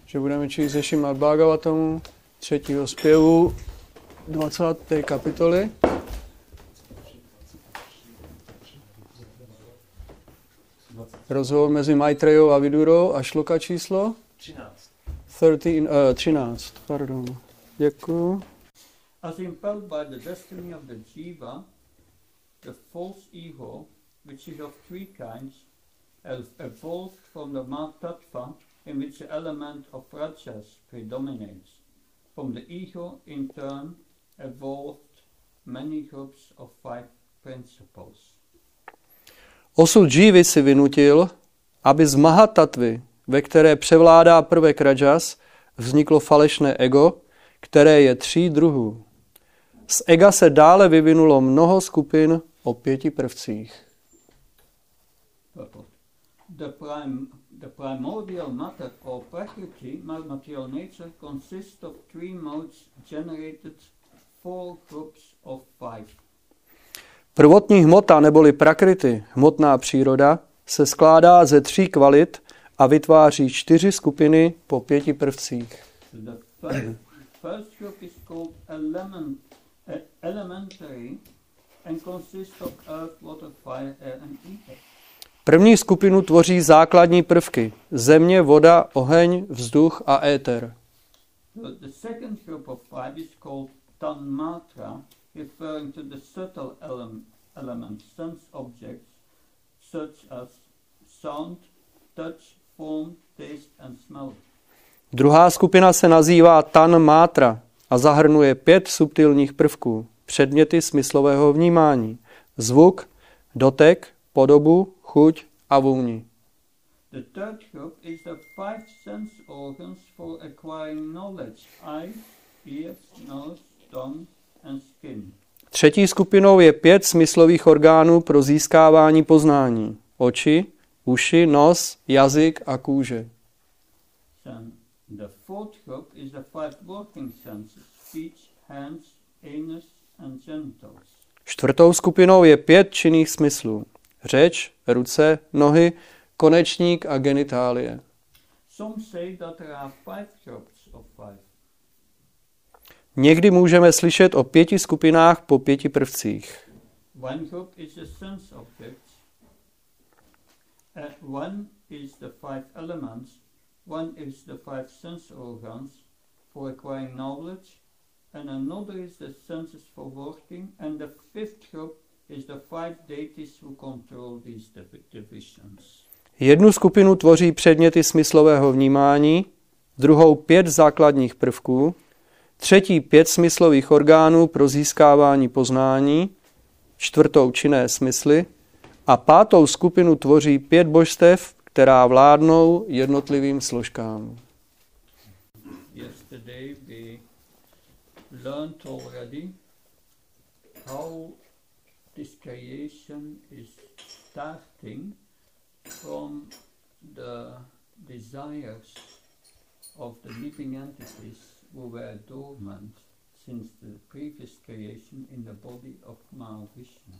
že budeme číst ze Šrimad Bhagavatamu 3. zpěvu 20. kapitoly. Rozhovor mezi Maitreyou a Vidurou a šloka číslo 13. Pardon. Děkuju. As impelled by the destiny of the jiva, the false ego, which is of three kinds, evolved from the Mahatattva, in which the element of rajas predominates. From the ego, in turn, evolved many groups of five principles. Osud jívy si vynutil, aby z Mahatatvy, ve které převládá prvek rajas, vzniklo falešné ego, které je 3 druhů. Z ega se dále vyvinulo mnoho skupin o 5 prvcích. The primordial matter or prakriti, material nature, consists of 3 modes generated 4 groups of 5. Prvotní hmota neboli prakriti, hmotná příroda, se skládá ze 3 kvalit a vytváří 4 skupiny po 5 prvcích. First group is called elementary and consists of earth, water, fire, air and ether. První skupinu tvoří základní prvky: země, voda, oheň, vzduch a éter. The second group of 5 is called tanmatra, referring to the subtle elements, sense objects, such as sound, touch, form, taste and smell. Druhá skupina se nazývá tanmátra a zahrnuje 5 subtilních prvků, předměty smyslového vnímání: zvuk, dotek, podobu, chuť a vůni. The third group is the 5 sense organs for acquiring knowledge: eye, ears, nose, tongue and skin. Třetí skupinou je 5 smyslových orgánů pro získávání poznání: oči, uši, nos, jazyk a kůže. The fourth group is the 5 working senses: speech, hands, anus and genitals. Čtvrtou skupinou je 5 činných smyslů: řeč, ruce, nohy, konečník a genitálie. Some say that there are 5 groups of 5. Někdy můžeme slyšet o 5 skupinách po 5 prvcích. One group is the sense objects, one is the 5 elements, one is the 5 sense organs for acquiring knowledge, and another is the senses for working, and the 5th group is the 5 deities who control these divisions. Jednu skupinu tvoří předměty smyslového vnímání, druhou 5 základních prvků, třetí 5 smyslových orgánů pro získávání poznání, čtvrtou činné smysly a 5. skupinu tvoří 5 božstev, která vládnou jednotlivým složkám. Yesterday we learned already how this creation is starting from the desires of the living entities who were dormant since the previous creation in the body of Mahavishnu.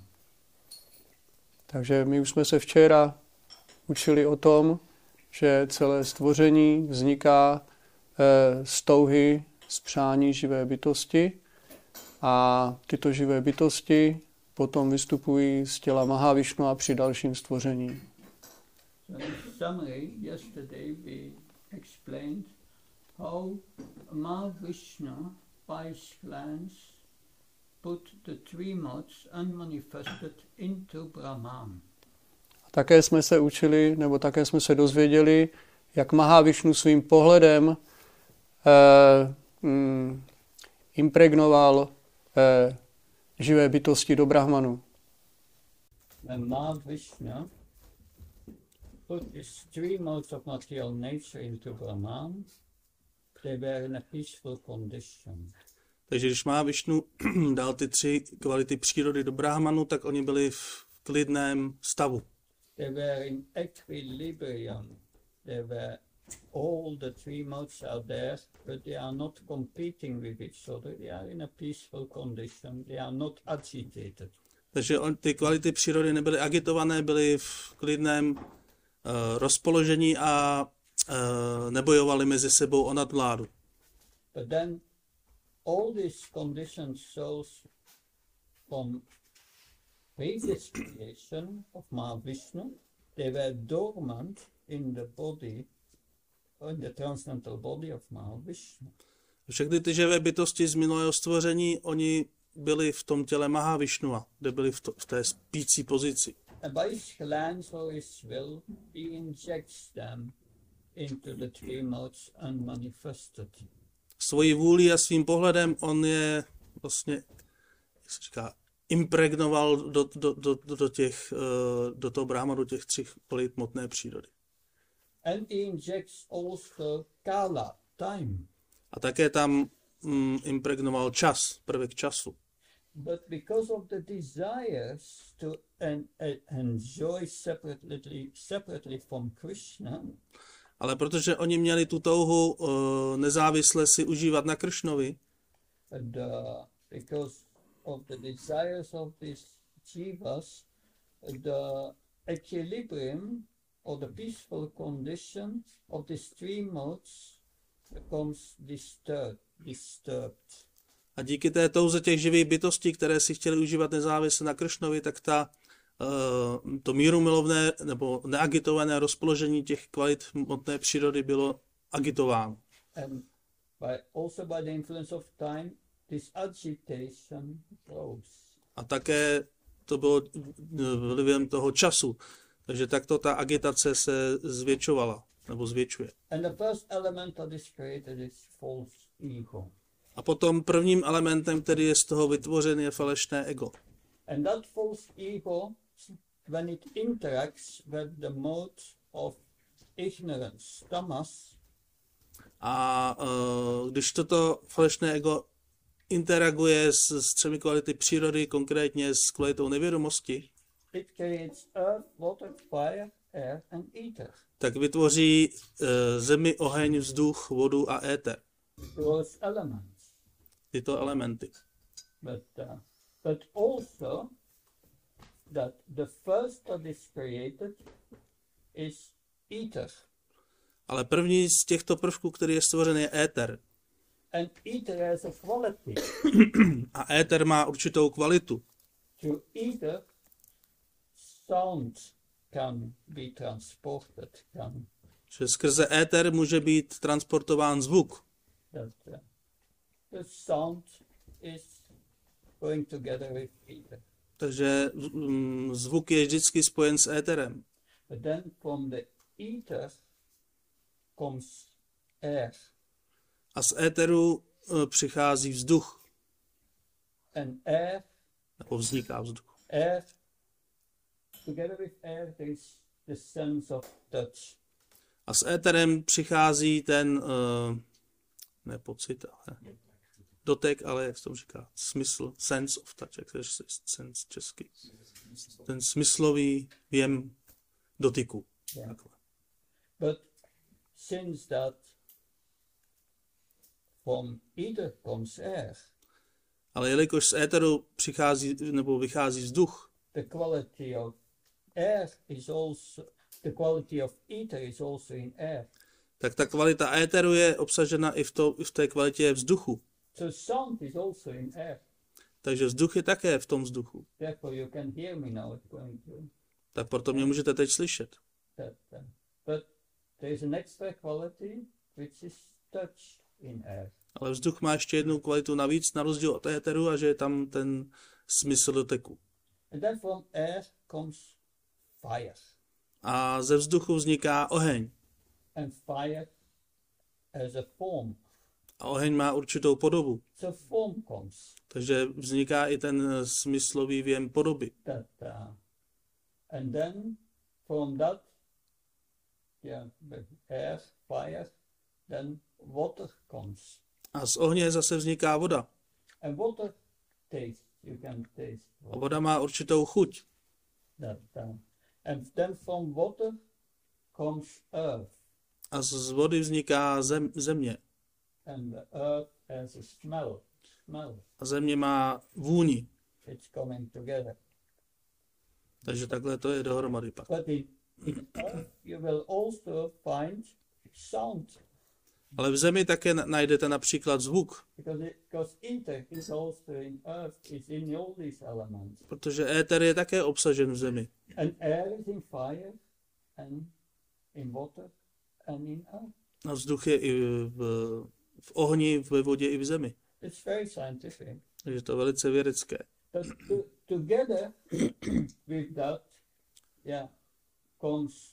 Takže my už jsme se včera učili o tom, že celé stvoření vzniká z touhy, z přání živé bytosti a tyto živé bytosti potom vystupují z těla Mahavišnu a při dalším stvoření. So in summary, yesterday we explained how Mahavishnu by his glance put the 3 modes unmanifested into Brahman. Také jsme se učili, nebo také jsme se dozvěděli, jak Mahavišnu svým pohledem impregnoval živé bytosti do Brahmanu. And Mahavishnu put these 3 modes of material nature into Brahman. They were in a peaceful condition. Takže když Mahavišnu dal ty 3 kvality přírody do Brahmanu, tak oni byli v klidném stavu. They were in equilibrium. They were all the 3 modes are there, but they are not competing with each other. They are in a peaceful condition. They are not agitated. Takže ty kvality přírody nebyly agitované, byly v klidném rozpoložení a nebojovali mezi sebou o nadvládu. But then all these conditions shows from previous creation of Mahavishnu, they were dormant in the body, in the transcendental body of Mahavishnu. Všechny ty živé bytosti z minulého stvoření, oni byli v tom těle Mahavishnua, kde byli v té spící pozici. And by his glance or his will, he injects them into the three modes unmanifested. Svojí vůlí a svým pohledem on je vlastně, jak se říká, impregnoval do toho Brahma, do těch 3 kvalit hmotné přírody. And he injects also kala, time. A také tam impregnoval čas, prvek času. But because of the desires to enjoy separately from Krishna, Ale protože oni měli tu touhu nezávisle si užívat na Kršnovi, because of the desires of these jivas, the equilibrium or the peaceful condition of these 3 modes becomes disturbed. a díky té touze těch živých bytostí, které si chtěli užívat nezávisle na Kršnovi, tak to mírumilovné nebo neagitované rozpoložení těch kvalit hmotné přírody bylo agitováno. And also by the influence of time, this agitation grows. A také to bylo vlivem toho času. Takže takto ta agitace se zvětšovala, nebo zvětšuje. And the first element that is created is false ego. A potom prvním elementem, který je z toho vytvořen, je falešné ego. And that false ego, when it interacts with the mode of ignorance, tamas, A když toto falešné ego interaguje s 3 kvality přírody, konkrétně s kvalitou nevědomosti, it creates earth, water, fire, air and ether. tak vytvoří zemi, oheň, vzduch, vodu a éter. Those elements. Tyto elementy. But also that the first that is created is ether. Ale první z těchto prvků, který je stvořen, je éter. And ether has a quality. A éter má určitou kvalitu. To ether, sound can be transported. Že skrze éter může být transportován zvuk. The sound is going together with ether. Takže zvuk je vždycky spojen s éterem. But then from the ether comes air. A z éteru přichází vzduch. And air, Nebo vzniká vzduch. air, together with air there is the sense of touch. A s éterem přichází ten, ne pocit, ale dotek, ale jak se to říká, smysl, sense of touch, jak se sense česky. Ten smyslový věm dotyku. Yeah. But since that from ether comes air, Ale jelikož z éteru přichází nebo vychází vzduch, the quality of air is also the quality of ether is also in air. tak ta kvalita éteru je obsažena i v té kvalitě vzduchu. So sound is also in air. Takže vzduch je také v tom vzduchu. Therefore you can hear me now. It's going to Tak proto mě můžete teď slyšet. that. But there is an extra quality which is touch in air. Ale vzduch má ještě jednu kvalitu navíc, na rozdíl od éteru, a že je tam ten smysl doteku. And then from air comes fire. A ze vzduchu vzniká oheň. And fire has a form. A oheň má určitou podobu. So form comes. Takže vzniká i ten smyslový věm podoby. And then from that, air, fire, then water comes. A z ohně zase vzniká voda. And water taste, you can taste A water. voda má určitou chuť. And then from water comes earth. A z vody vzniká země. And the earth has a smell. A země má vůni. It's coming together. Takže takhle to je dohromady pak. But in earth you will also find sound. Ale v zemi také najdete například zvuk, Because ether is also in earth, is in all these elements. protože éter je také obsažen v zemi. And air is in fire, and in water, and in earth. A vzduch je i v ohni, ve vodě i v zemi. It's very scientific. Takže to je velice vědecké. But together with that, comes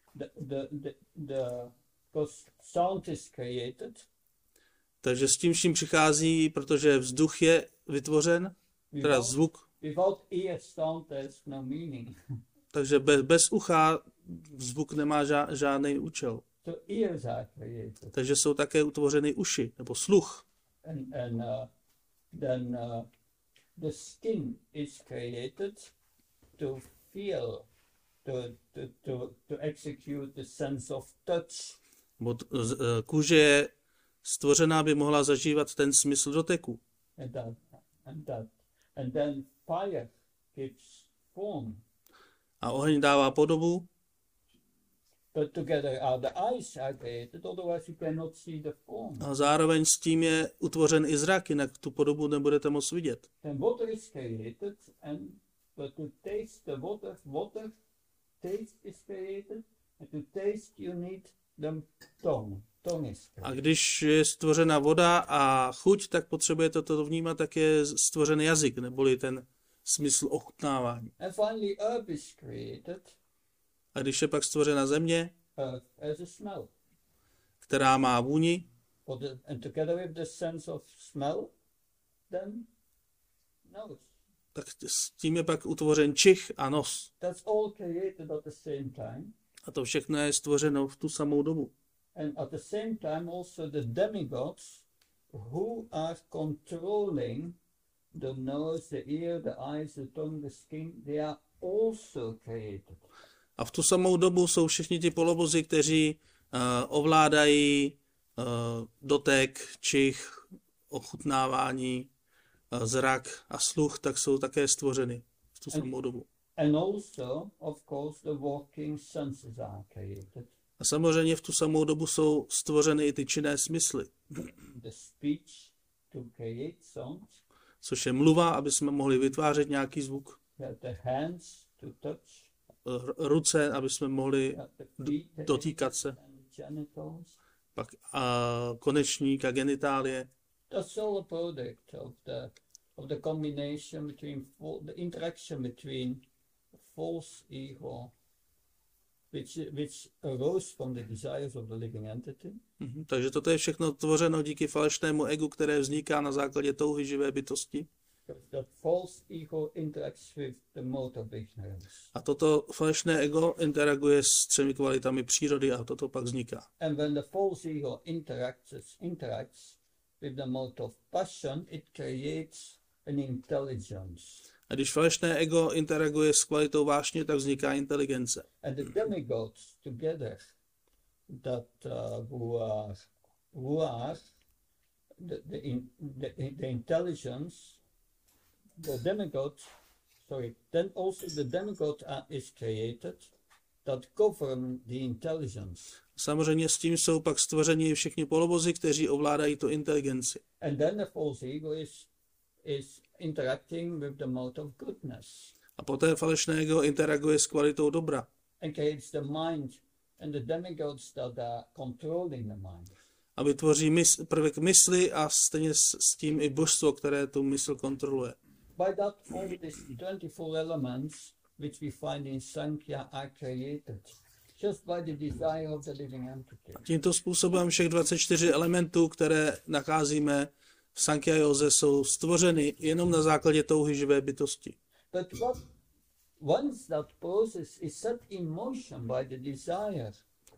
because sound is created. Takže s tím vším přichází, protože vzduch je vytvořen, teda zvuk. Without ear, sound has no meaning. Takže bez ucha zvuk nemá žádný účel. So ears are created. Takže jsou také utvořeny uši, nebo sluch. And then the skin is created to feel, to execute the sense of touch. Kůže je stvořená, aby mohla zažívat ten smysl doteku. And then fire gives form. A oheň dává podobu. But together the eyes are created, otherwise you cannot see the form. A zároveň s tím je utvořen i zrak, jinak tu podobu nebudete moc vidět. Then water is created, but to taste the water taste is created, and to taste you need the tongue. A když je stvořena voda a chuť, tak potřebujete to vnímat, tak je stvořen jazyk, neboli ten smysl ochutnávání. And finally earth is created. A když je pak stvořena země, as a smell, která má vůni, and together with the sense of smell, then nose. Tak s tím je pak utvořen čich a nos. That's all created at the same time. A to všechno je stvořeno v tu samou dobu. And at the same time also the demigods who are controlling the nose, the ear, the eyes, the tongue, the skin, they are also created. A v tu samou dobu jsou všichni ti polobozy, kteří ovládají dotek, čich, ochutnávání, zrak a sluch, tak jsou také stvořeny v tu samou dobu. And also, of course, the walking senses are created. A samozřejmě v tu samou dobu jsou stvořeny i ty činné smysly. The speech to create songs. Což je mluva, aby jsme mohli vytvářet nějaký zvuk. The hands to touch. Ruce, aby jsme mohli dotýkat se. Pak konečník a genitálie. That's all a product of the combination between the interaction between false ego, which arose from the desires of the living entity. Takže toto je všechno tvořeno díky falešnému egu, které vzniká na základě touhy živé bytosti. That false ego interacts with the mode of ignorance. A toto falešné ego interaguje s třemi kvalitami přírody a toto pak vzniká. And when the false ego interacts with the mode of passion, it creates an intelligence. A když falešné ego interaguje s kvalitou vášně, tak vzniká inteligence. And the demigods together, that who are the intelligence, then also the demigod is created that govern the intelligence. Samozřejmě s tím jsou pak stvořeni všichni polobozy, kteří ovládají tu inteligenci. And then the false ego is interacting with the mode of goodness. A poté falešné ego interaguje s kvalitou dobra. And creates the mind and the demigods that are controlling the mind. A vytvoří prvek mysli a stejně s tím i božstvo, které tu mysl kontroluje. By that all these 24 elements which we find in Sankhya are created just by the desire of the living entity. Tímto způsobem všech 24 elementů, které nacházíme v Sankhya józe, jsou stvořeny jenom na základě touhy živé bytosti. But once that process is set in motion by the desire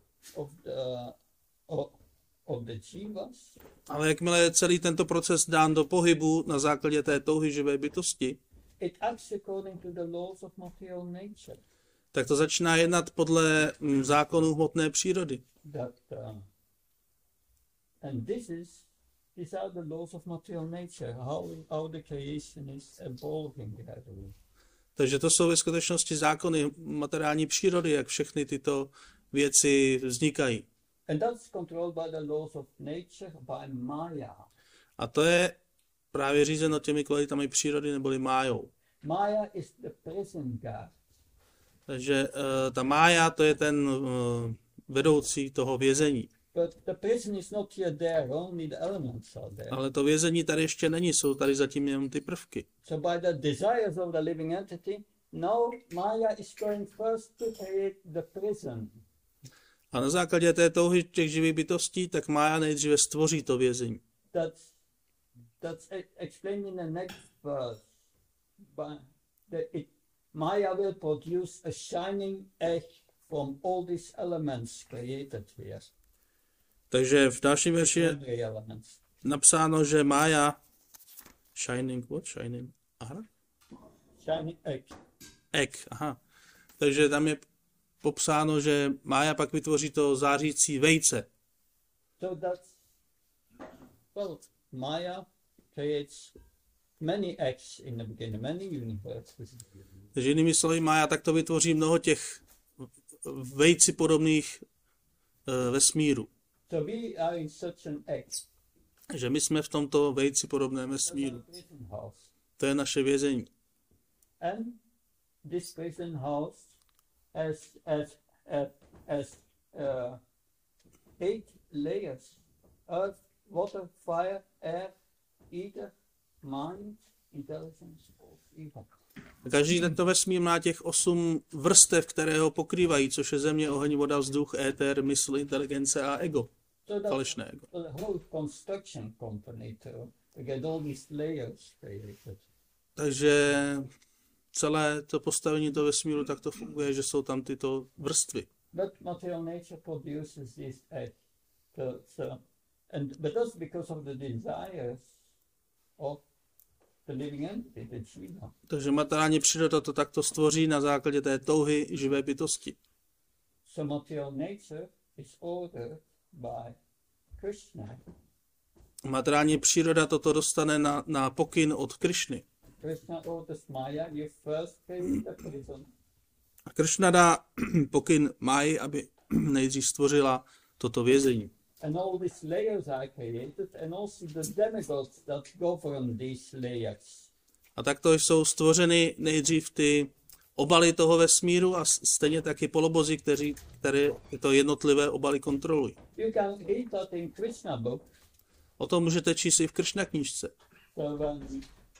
of the jivas, ale jakmile je celý tento proces dán do pohybu na základě té touhy živé bytosti, it acts according to the laws of material nature. Tak to začíná jednat podle zákonů hmotné přírody. And these are the laws of material nature, how the creation is evolving gradually. Takže to jsou ve skutečnosti zákony materiální přírody, jak všechny tyto věci vznikají. And that's controlled by the laws of nature, by Maya. A to je právě řízeno těmi kvalitami přírody neboli májou. Maya is the prison guard. Takže ta mája to je ten vedoucí toho vězení. But the prison is not yet there, only the elements are there. Ale to vězení tady ještě není, jsou tady zatím jenom ty prvky. So by the desires of the living entity, now Maya is going first to create the prison. A na základě té touhy těch živých bytostí, tak mája nejdříve stvoří to vězení. That's explained in the next verse. Maya will produce a shining egg from all these elements created here. Takže v dalším verši je napsáno, že mája shining, what? Shining, aha? Shining egg. Egg, aha. Takže tam je popsáno, že mája pak vytvoří to zářící vejce. So that's, well, Maya creates many eggs in the beginning, many universes. Takže jinými slovy, mája takto vytvoří mnoho těch vejci podobných vesmíru. So we are in such an egg. Že my jsme v tomto vejci podobném vesmíru. To je naše vězení. And this prison house has 8 layers: earth, water, fire, air, ether, mind, intelligence, evil. Každý tento vesmír má těch 8 vrstev, které ho pokrývají, což je země, oheň, voda, vzduch, éter, mysl, inteligence a ego. Falešné ego. Takže celé to postavení toho vesmíru tak to funguje, že jsou tam tyto vrstvy. But material nature produces this egg. But that's because of the desires of the living entity, the jiva. Takže materiální příroda to takto stvoří na základě té touhy živé bytosti. So material nature is ordered by Krishna. Materiální příroda toto dostane na pokyn od Krišny. Krishna orders Maya, you first create the prison. A Krishna dá pokyn Máji, aby nejdřív stvořila toto vězení. And all these layers are created, and also the demigods that govern these layers. A takto jsou stvořeny nejdřív ty obaly toho vesmíru a stejně taky polobozy, které to jednotlivé obaly kontrolují. You can read that in Krishna book. O tom můžete číst i v Krishna knížce. So when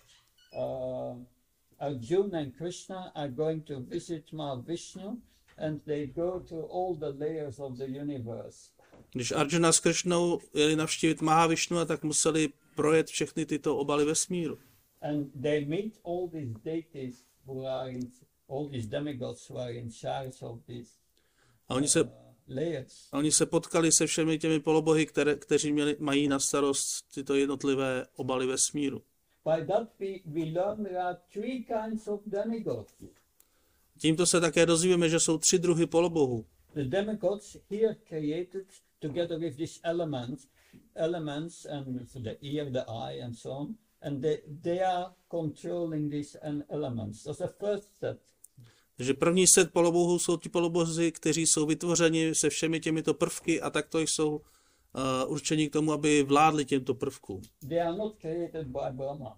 Arjuna and Krishna are going to visit Mahavishnu, and they go to all the layers of the universe. Když Arjuna s Krishnou jeli navštívit Mahavišnu, a tak museli projet všechny tyto obaly vesmíru. And they meet all these deities who are in, all these demigods who are in charge of these layers. A oni se potkali se všemi těmi polobohy, kteří mají na starost tyto jednotlivé obaly vesmíru. By that we learn there are 3 kinds of demigods. Tímto se také dozvíme, že jsou 3 druhy polobohů. The demigods here created together with these elements and so the ear, the eye and so on, and they are controlling these elements. That's the first set. Takže první set polobohů jsou ti polobozi, kteří jsou vytvořeni se všemi těmito prvky a takto jsou určeni k tomu, aby vládli těmto prvkům. They are not created by Brahma.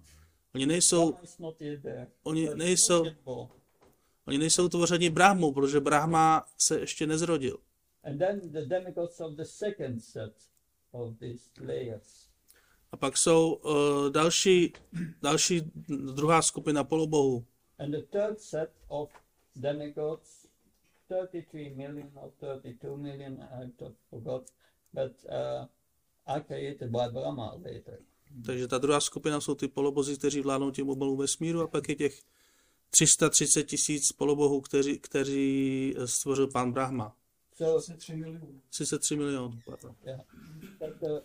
Oni nejsou tvořeni Brahmou, protože Brahma se ještě nezrodil. And then the demigods of the second set of these layers. A pak jsou další druhá skupina polobohů. And the third set of demigods, 33 million or 32 million, I forgot, but are created by Brahma later. Takže ta druhá skupina jsou ty polobozi, kteří vládnou těm obalům vesmíru, a pak je těch 330 000 polobohů, kteří stvořil pán Brahma. 33 milionů. Yeah. But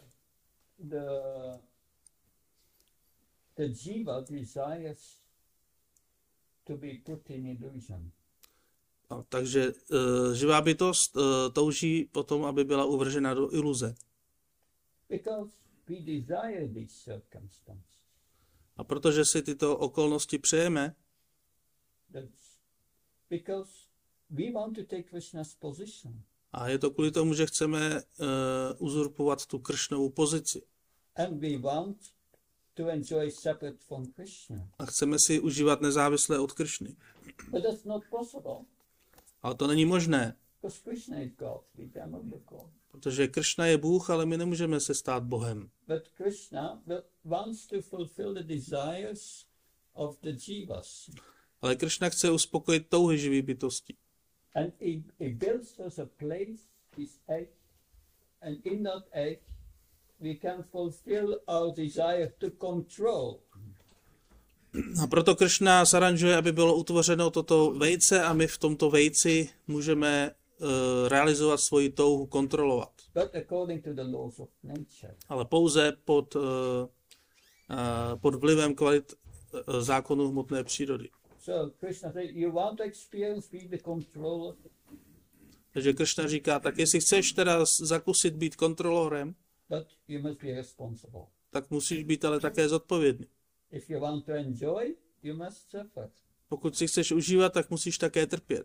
the jiva desires to be put in illusion. Takže živá bytost touží potom, aby byla uvržena do iluze. Because we desire these circumstances. A protože si tyto okolnosti přejeme, because we want to take Krishna's position. A je to kvůli tomu, že chceme uzurpovat tu Kršnovu pozici. And we want to enjoy separate from Krishna. A chceme si užívat nezávisle od Kršny. But that's not possible. Ale to není možné, Because Krishna is God, we cannot be God. protože Kršna je Bůh, ale my nemůžeme se stát Bohem. But Krishna wants to fulfill the desires of the jivas. Ale Kršna chce uspokojit touhy živých bytostí. And he builds us a place, his egg, and in that egg we can fulfill our desire to control. A proto Kršna zaranžuje, aby bylo utvořeno toto vejce a my v tomto vejci můžeme realizovat svoji touhu kontrolovat. But according to the laws of nature. Ale pouze pod vlivem kvalit zákonů hmotné přírody. So Krishna said, you want to experience, be the controller. Takže Kršna říká, tak jestli chceš teda zakusit být kontrolorem, But you must be responsible. tak musíš být ale také zodpovědný. If you want to enjoy, you must suffer. Pokud si chceš užívat, tak musíš také trpět.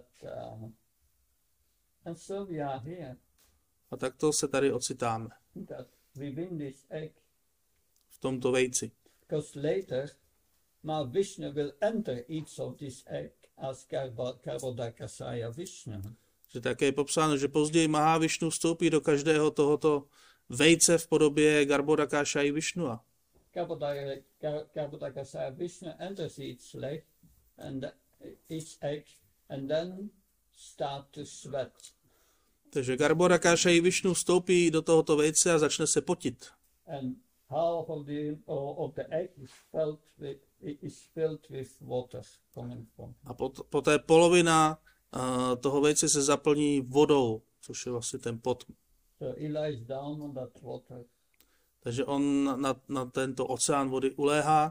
And so we are here. A takto se tady ocitáme. That we win this egg. V tomto vejci. Because later, now Vishnu will enter each of this egg as Garbhodakasaya Vishnu. Že také je popsáno, že později Mahavišnu vstoupí do každého tohoto vejce v podobě Garbhodakasaya Vishnua. Garbhodakasaya Vishnu enters each egg and then start to sweat. Takže Garbhodakasaya Vishnu vstoupí do tohoto vejce a začne se potit. And half of the egg is filled with water coming from. A poté polovina toho vejce se zaplní vodou, což je vlastně ten pot. So he lies down on that water. Takže on na tento oceán vody uléhá.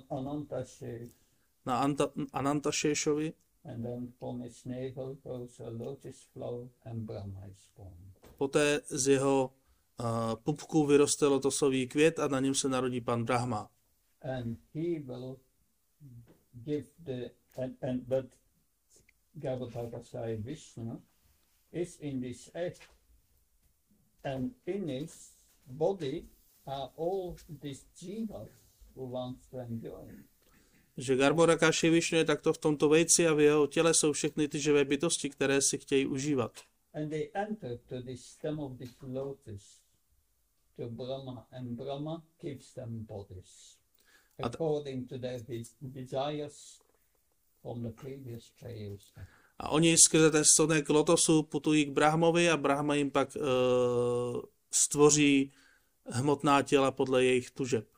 Na Anantašešovi. And then from his navel goes a lotus flower and Brahma is born. Poté z jeho pupku vyroste lotosový květ a na něm se narodí pan Brahma. And he will give but Garbhodakasaya Vishnu is in this egg, and in his body are all these jivas who want to enjoy. Že Garbhodakasaya Vishnu je takto v tomto vejci a v jeho těle jsou všechny ty živé bytosti, které si chtějí užívat. And they enter to the stem of this lotus, to Brahma, and Brahma gives them bodies according to their desires from the previous creation. A oni skrze ten stonek lotosu putují k Brahmovi a Brahma jim pak stvoří hmotná těla podle jejich tužeb.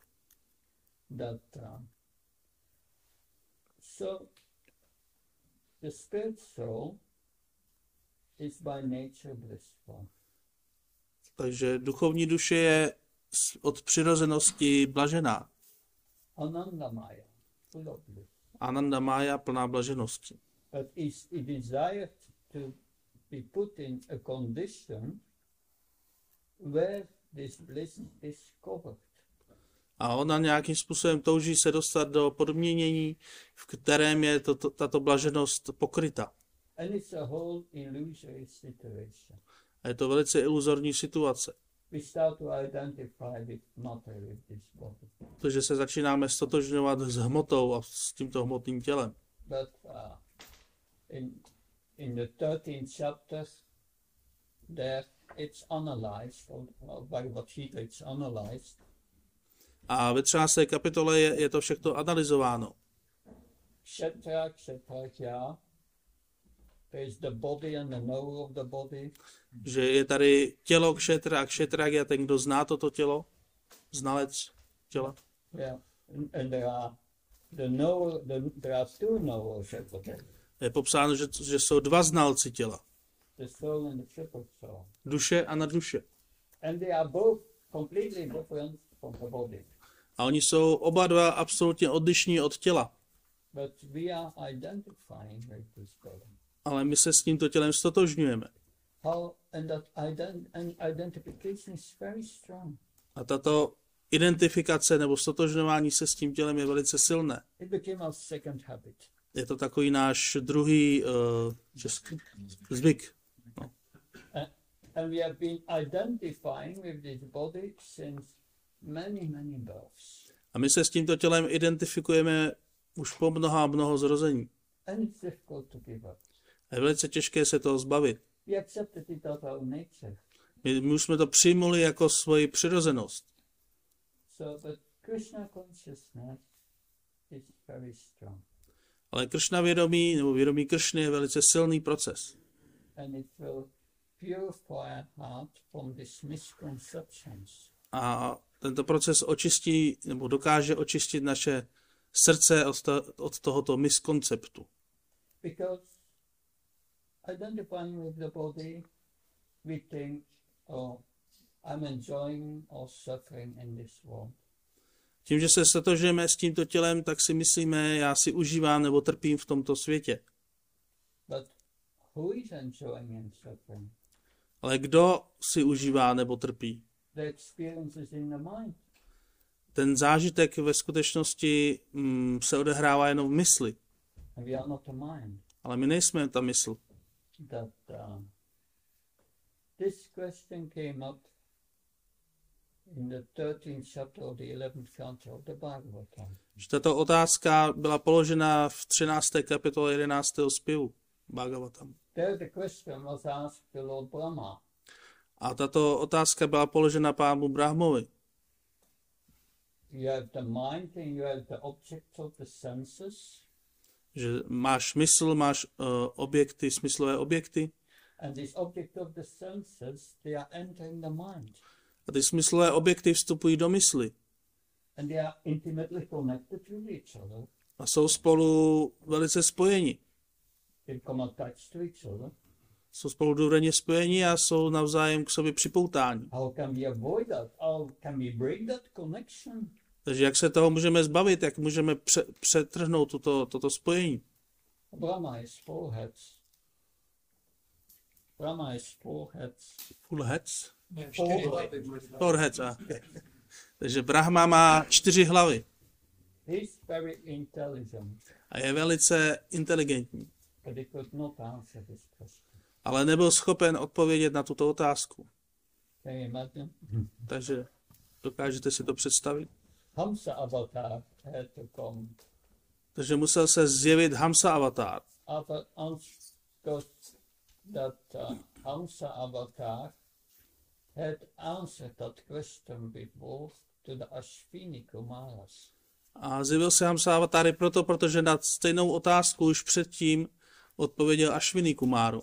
So the spirit soul is by nature blissful. Takže duchovní duše je od přirozenosti blažená. Anandamaya, full of bliss. Anandamaya, plná blaženosti. But it desired to be put in a condition where this bliss is covered. A ona nějakým způsobem touží se dostat do podmínění, v kterém je tato blaženost pokryta. And it's a whole illusory situation. A je to velice iluzorní situace. We start to identify with matter, with this body. Protože se začínáme stotožňovat s hmotou a s tímto hmotným tělem. But in the 13th chapter, there it's analyzed, or Bhagavad Gita it's analyzed. A ve 13. kapitole je to všechno analyzováno. Kshetra, there is the body and the knower of the body. Že je tady tělo kšetra a kšetrák je ten, kdo zná toto tělo, znalec těla. Yeah, and there are there are two knowers of the body. Je popsáno, že jsou dva znalci těla. The soul and the triple soul. Duše a nadduše. And they are both completely different from the body. A oni jsou oba dva absolutně odlišní od těla. But we are identifying with this body. Ale my se s tímto tělem stotožňujeme. And that identification is very strong. A tato identifikace nebo stotožňování se s tím tělem je velice silné. It became our second habit. Je to takový náš druhý zvyk. No. And we have been identifying with this body since many births. A my se s tímto tělem identifikujeme už po mnoho zrození. And it's difficult to give up. A je velice těžké se toho zbavit. We accepted it as our nature. My už jsme to přijmuli jako svoji přirozenost. So, but Krishna consciousness is very strong. Ale Kršna vědomí, nebo vědomí Kršny je velice silný proces. And it will purify our heart from these misconceptions. A tento proces očistí, nebo dokáže očistit naše srdce od tohoto miskonceptu. Because identifying with the body, we think, oh, I'm enjoying or suffering in this world. Tím, že se stotožujeme s tímto tělem, tak si myslíme, já si užívám nebo trpím v tomto světě. But who is enjoying and suffering? Ale kdo si užívá nebo trpí? The experience is in the mind. Ten zážitek ve skutečnosti se odehrává jenom v mysli. And we are not the mind. Ale my nejsme ta mysl. That this question came up in the 13th chapter of the 11th canto of the Bhagavatam. Tato otázka byla položena v 13. kapitole 11. zpěvu Bhagavatam. There the question was asked to Lord Brahma. A tato otázka byla položena pánu Brahmovi. You have the mind and you have the object of the senses. Že máš mysl, máš objekty, smyslové objekty. And this object of the senses, they are entering the mind. A ty smyslové objekty vstupují do mysli. And they are intimately connected with each other. A jsou spolu velice spojeni. They become attached to each other. Jsou spolu důvěrně spojeni a jsou navzájem k sobě připoutáni. How can we avoid that? How can we break that connection? Takže jak se toho můžeme zbavit, jak můžeme přetrhnout toto spojení? Brahma is four heads. Brahma is four heads. Full heads? Four heads, Takže Brahma má 4 hlavy. He's very intelligent. A je velice inteligentní. But he could not answer this question. Ale nebyl schopen odpovědět na tuto otázku. Can you imagine? Takže dokážete si to představit? Hamsa avatar had to come. Takže musel se zjevit Hamsa avatar. Because that Hamsa avatar had answered that question before to the Ashvini Kumaras. A zjevil se Hamsa avatar protože na stejnou otázku už předtím odpověděl Ashvini Kumáru.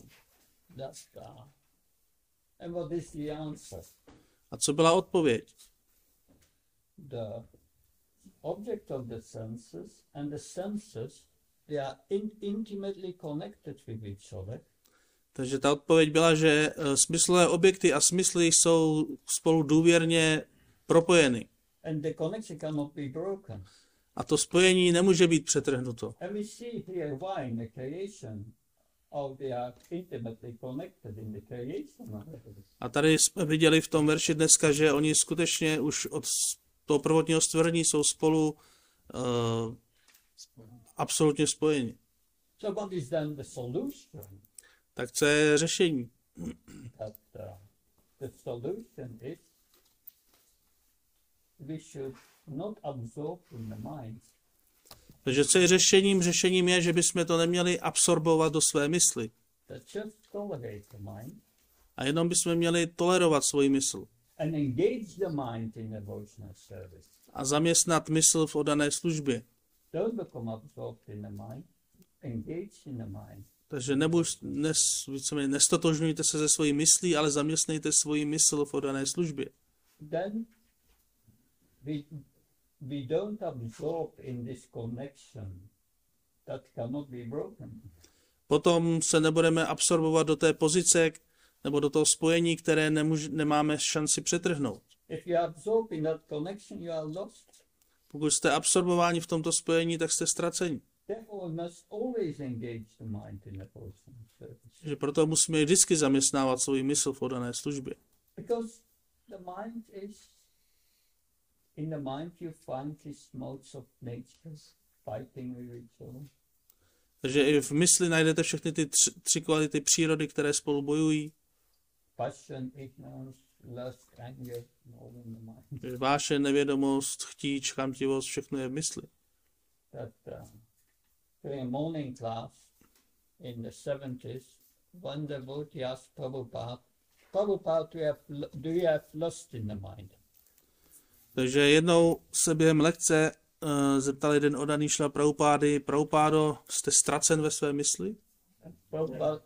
And what is the answer? A co byla odpověď? The object of the senses and the senses, they are intimately connected with each other. Takže ta odpověď byla, že smyslové objekty a smysly jsou spolu důvěrně propojeny. And the connection cannot be broken. A to spojení nemůže být přetrhnuto. And we see here why in the creation how they are intimately connected in the creation. A tady jsme viděli v tom verši dneska, že oni skutečně už od toho prvotního stvoření jsou spolu absolutně spojeni. So what is then the solution? Tak co je řešení? The solution is we should not absorb in the mind. Takže co je řešením? Řešením je, že bychom to neměli absorbovat do své mysli. Just tolerate the mind. A jenom bychom měli tolerovat svoji mysl. And engage the mind in devotional service. A zaměstnat mysl v oddané službě. Don't become absorbed in the mind. Engage in the mind. Takže nestotožňujte se ze svojí myslí, ale zaměstnejte svoji mysl v oddané službě. Then we don't absorb in this connection that cannot be broken. Potom se nebudeme absorbovat do té pozice nebo do toho spojení, které nemáme šanci přetrhnout. If you absorb in that connection, you are lost. Pokud jste absorbováni v tomto spojení, tak jste ztraceni. Therefore, we must always engage the mind in devotional service. Že proto musíme vždycky zaměstnávat svou mysl v oddané službě. Because the mind is, in the mind you find these modes of nature fighting with each other. Takže i v mysli najdete všechny ty tři kvality přírody, které spolu bojují. passion, ignorance, lust, anger, all in the mind. Váše nevědomost, chtíč, chamtivost, všechno je v mysli. That during a morning class in the 70s, one devotee asked Prabhupada, do you have lust in the mind? Takže jednou se během lekce zeptal jeden oddaný Šrila Prabhupády, Prabhupádo, jste ztracen ve své mysli? Prabhupada,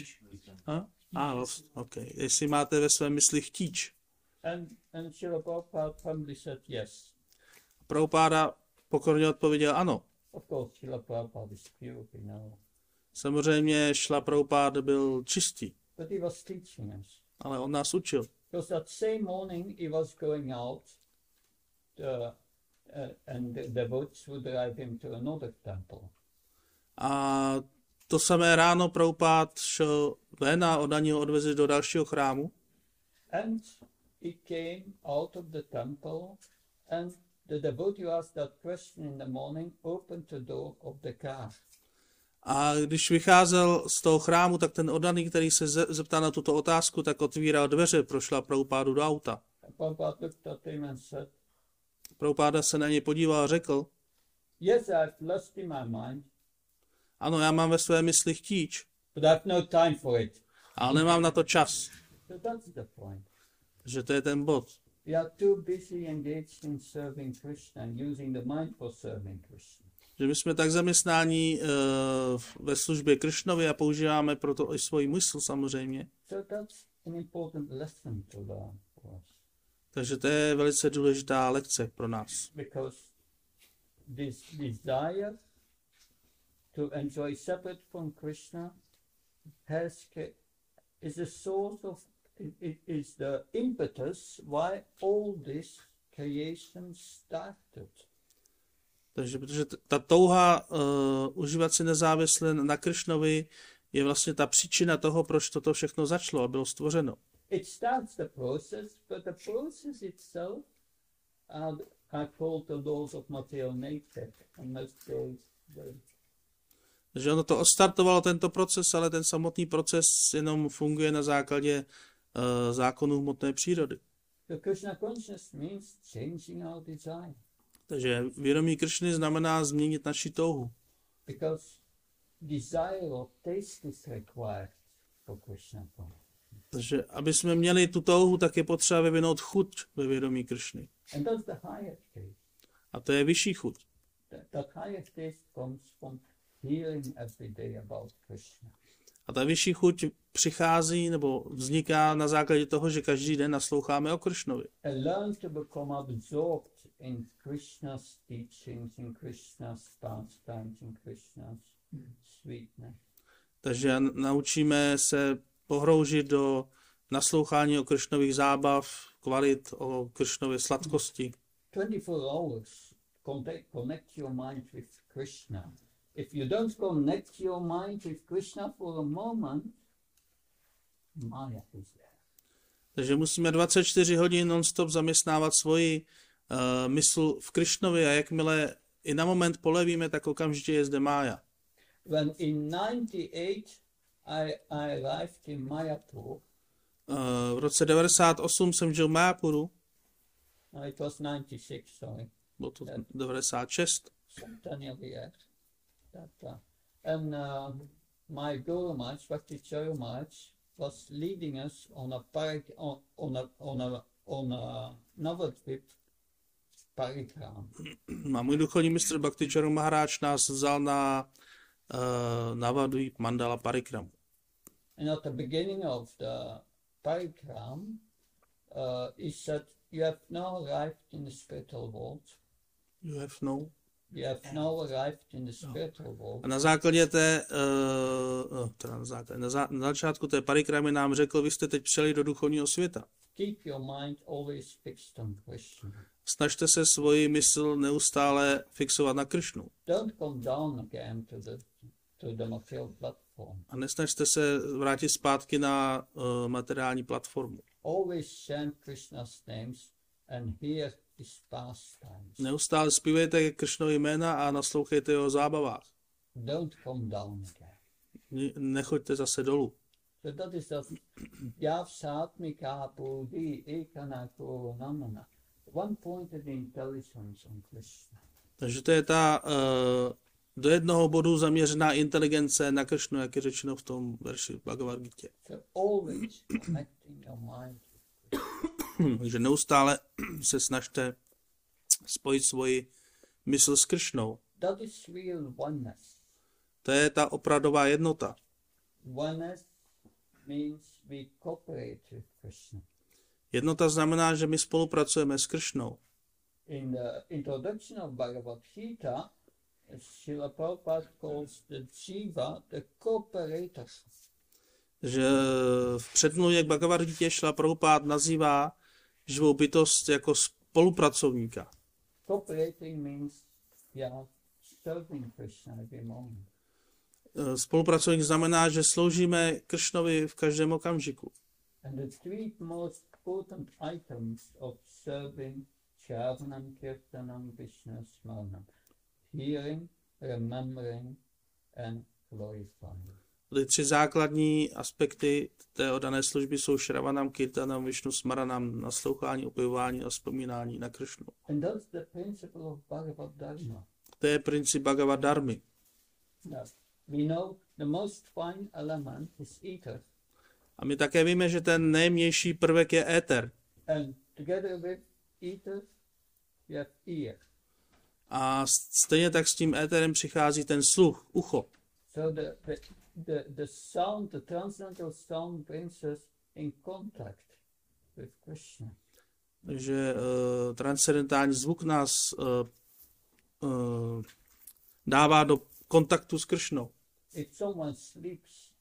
Okay. Jestli máte ve své mysli chtíč. and Srila Prabhupada humbly said yes. Prabhupáda pokorně odpověděl ano. Of course, Srila Prabhupada is pure, we know. Samozřejmě Šrila Prabhupáda byl čistý, But he was teaching us. ale on nás učil. Because that same morning he was going out and the devotees would drive him to another temple. A to samé ráno Prabhupád šel ven a oddaní ho odvezli do dalšího chrámu. And he came out of the temple and the devotee who asked that question in the morning opened the door of the car. A když vycházel z toho chrámu, tak ten oddaný, který se zeptal na tuto otázku, tak otvíral dveře pro Šrila Prabhupádu do auta. Prabhupada looked at him and said, Prabhupáda se na něj podíval a řekl, yes, I have lust in my mind, ano, já mám ve své mysli chtíč, but I have no time for it. ale nemám na to čas. So that's the point. Že to je ten bod. We are too busy engaged in serving Krishna and using the mind for serving Krishna. Že my jsme tak zaměstnáni ve službě Krišnovi a používáme proto i svoji mysl samozřejmě. So that's an important lesson to learn for us. Takže to je velice důležitá lekce pro nás. Because this desire to enjoy separate from Krishna is a source of, it is the impetus why all this creation started. Takže protože ta touha užívat si nezávisle na Krišnovi je vlastně ta příčina toho, proč toto všechno začalo a bylo stvořeno. It starts the process, but the process itself are called the laws of material nature. And most days Takže ono to odstartovalo tento proces, ale ten samotný proces jenom funguje na základě zákonů hmotné přírody. the Krishna consciousness means changing our desire. Takže vědomí Krišny znamená změnit naši touhu. Because desire or taste is required for Krishna consciousness. Takže aby jsme měli tu touhu, tak je potřeba vyvinout chuť ve vědomí Krišny. And that's the higher taste. A to je vyšší chuť. That higher taste comes from hearing every day about Krishna. A ta vyšší chuť přichází nebo vzniká na základě toho, že každý den nasloucháme o Krišnovi. And learn to become absorbed in Krishna's teachings, in Krishna's pastimes, in Krishna's sweetness. Takže naučíme se pohroužit do naslouchání o Krišnových zábav, kvalit, o Krišnově sladkosti. 24 hours connect your mind with Krishna. If you don't connect your mind with Krishna for a moment, Maya is there. Takže musíme 24 hodin non-stop zaměstnávat svoji mysl v Krišnovi a jakmile i na moment polevíme, tak okamžitě je zde Mája. When in 98 I arrived in Mayapur. V roce 98 jsem žil v Mayapuru. It was 96, sorry. Bylo to 96. Centennial year. And my Guru Maharaj, Bhakti Charu Maharaj, was leading us on a Navadvip parikram. A můj duchovní mistr Bhakti Charu Maharaj nás vzal na Navadvip Mandala Parikramu. And at the beginning of the parikram, he said, you have now arrived in the spiritual world. You have now arrived in the spiritual world. A na základě na začátku té parikramy nám řekl, vy jste teď přijeli do duchovního světa. Keep your mind always fixed on Krishna. Snažte se svoji mysl neustále fixovat na Krišnu. Don't come down again to the material platform. A nesnažte se vrátit zpátky na materiální platformu. Always chant Krishna's names and hear his pastimes. Neustále zpívejte Krišnovi jména a naslouchejte jeho zábavách. Don't come down again. Nechoďte zase dolů. So dat is dat Yavsatmika Bodhi Ekanako Namana. One-pointed intelligence on Krishna. Takže to je ta do jednoho bodu zaměřená inteligence na Kršnu, jak je řečeno v tom verši Bhagavad Gita. So always connecting your mind. Takže neustále se snažte spojit svoji mysl s Kršnou. That is real oneness. To je ta opravdová jednota. Oneness means we cooperate with Krishna. Jednota znamená, že my spolupracujeme s Kršnou. In the introduction of Bhagavad Gita, Srila Prabhupada calls the jiva the cooperator. Že v předmluvě k Bhagavad Gita Srila Prabhupada nazývá živou bytost jako spolupracovníka. Cooperating means serving Krishna every moment. Spolupracovník znamená, že sloužíme Kršnovi v každém okamžiku. And the three most important items of serving Shravanam, Kirtanam, Vishnu Smaranam: hearing, remembering and glorifying. Ty tři základní aspekty té oddané služby jsou Shravanam, Kirtanam, Vishnu Smaranam, naslouchání, opěvování a vzpomínání na Kršnu. And that's the principle of Bhagavad Dharma. To je princip Bhagavad Dharmy. Yes. We know the most fine element is ether. A my také víme, že ten nejjemnější prvek je éter. And together with ether, you have ear. A stejně tak s tím éterem přichází ten sluch, ucho. So the sound, the transcendental sound brings us in contact with Krishna. Takže transcendentální zvuk nás dává do kontaktu s Kršnou. If someone sleeps,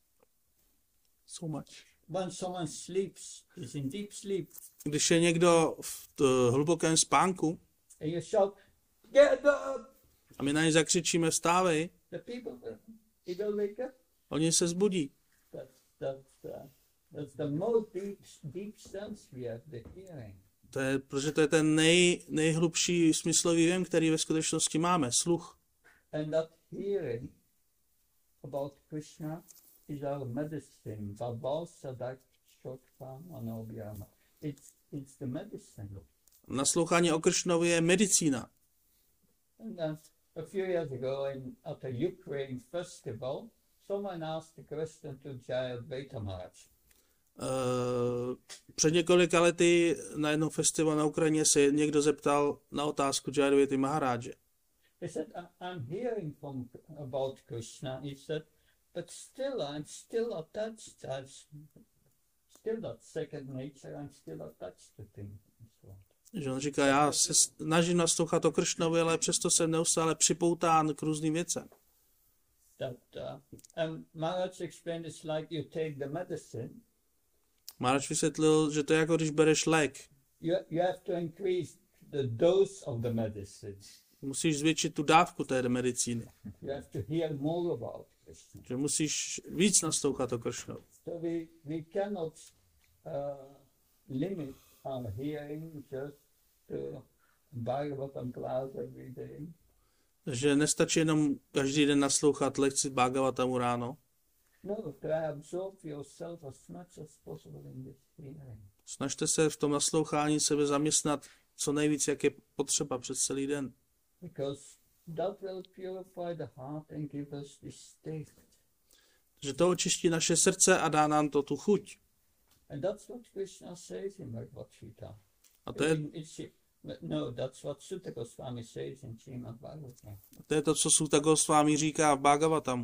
when someone sleeps, is in deep sleep, Když je někdo v hlubokém spánku and you shout, "Get up!" a my na ně zakřičíme vstávej, The people, he will wake up. oni se zbudí. That's the most deep sense we have, the hearing. Protože to je ten nejhlubší smyslový věm, který ve skutečnosti máme, sluch. And that hearing about Krishna is our medicine. Babal Sadak Shotpam Anobhyama. It's the medicine. Naslouchání o Kršnovi je medicína. And a few years ago, at a Ukraine festival, someone asked the question to Jayadvaita Maharaj. Před několika lety na jednom festivalu na Ukrajině se někdo zeptal na otázku Jayadvaity Maharáže. He said, I'm hearing about Krishna. He said, but still, I'm still attached. I'm still that second nature. I'm still attached to things. Že on říká, já se snažím naslouchat o Kršnovi, ale přesto jsem neustále připoután k různým věcem. And Maharaj explained it's like you take the medicine. Maharaj vysvětlil, že to je jako když bereš lék. You have to increase the dose of the medicine. Musíš zvětšit tu dávku té medicíny. You have to hear more about Krishna. Že musíš víc naslouchat o Kršnovi. So we cannot limit our hearing just to Bhagavatam class every day. Že nestačí jenom každý den naslouchat lekci Bhagavatamu ráno. No, try absorb yourself as much as possible in this hearing. Snažte se v tom naslouchání sebe zaměstnat co nejvíc, jak je potřeba přes celý den. Because that will purify the heart and give us this taste. Že to očistí naše srdce a dá nám to tu chuť. And that's what Krishna says in Bhagavad Gita. A to je, No, that's what Sutta Goswami says in Srimad Bhagavatam. to je to, co Sutta Goswami říká v Bhagavatamu.